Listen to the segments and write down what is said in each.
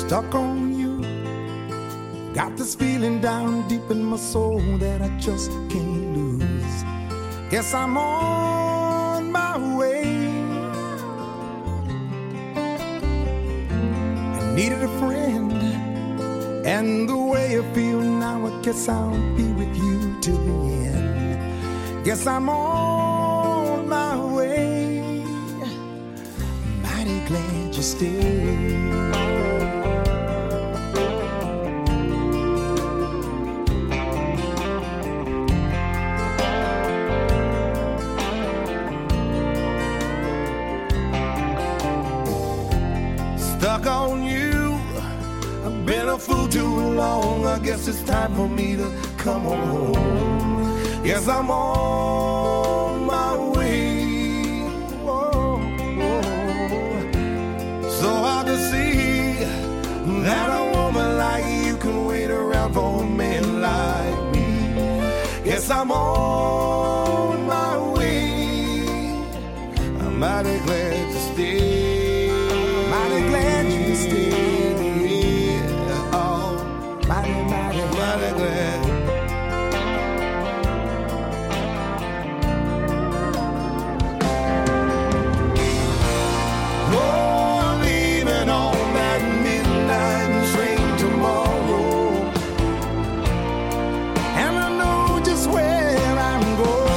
stuck on you. Got this feeling down deep in my soul that I just can't lose. Guess I'm on my way. I needed a friend, and the way I feel now, I guess I'll be with you till the end. Guess I'm on my way. Mighty glad you stayed. Stuck on you, I've been a fool too long. I guess it's time for me to come home. Yes, I'm on my way. Whoa, whoa. So hard to see that a woman like you can wait around for a man like me. Yes, I'm on my way. I'm mighty glad to stay. Glad you stayed. Oh, mighty glad. Oh, I'm leaving on that midnight train tomorrow, and I know just where I'm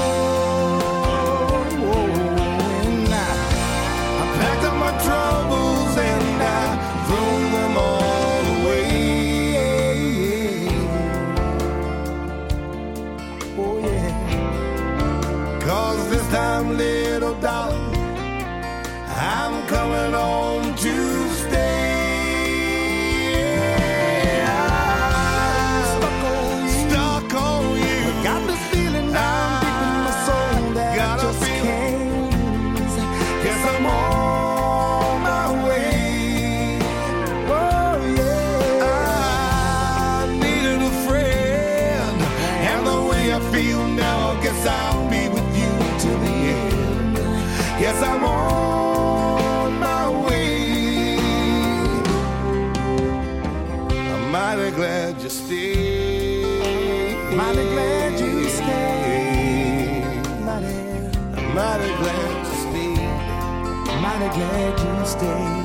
going. I packed up my troubles and I threw them all away. Oh yeah. 'Cause this time, little darling, I'm coming home to stay. I'm stuck on you. Got this feeling down deep in my soul that I just can't lose. Guess I'm on my way. Oh yeah. I needed a friend, and the way I feel now, I guess I'll be with you till the end. Yes, I'm on my way. I'm mighty glad you stayed. Mighty glad you stayed. I'm mighty glad you stayed. Mighty glad you stayed.